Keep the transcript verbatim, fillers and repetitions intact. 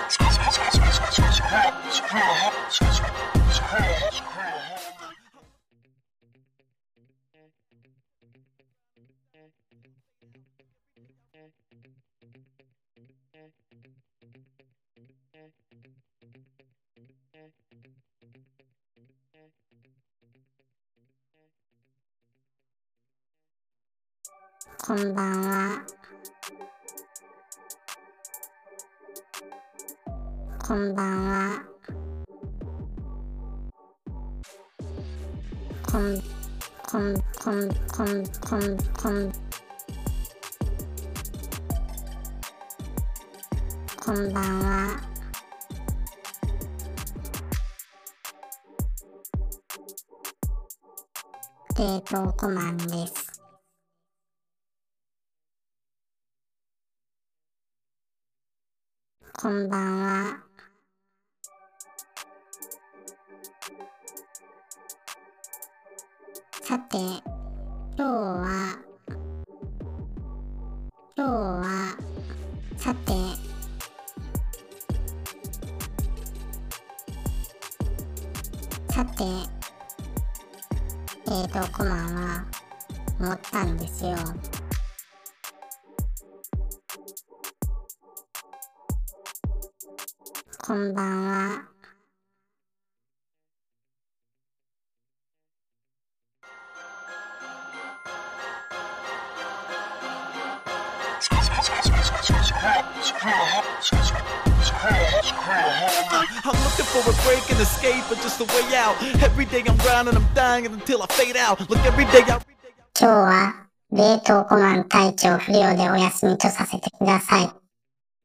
こんばんは。こんばんは。こん、こん、こん、こん、こん、こん、こんばんは。冷凍コマンです。こんばんは。さて、今日は、今日は、さて、さて、冷凍コマンは思ったんですよ。こんばんは。 I'm looking for a break and escape, but just a way out. Every day I'm grinding, I'm dying until I fade out. Look, every day I... 今日は冷凍コマン隊長不良でお休みとさせてください。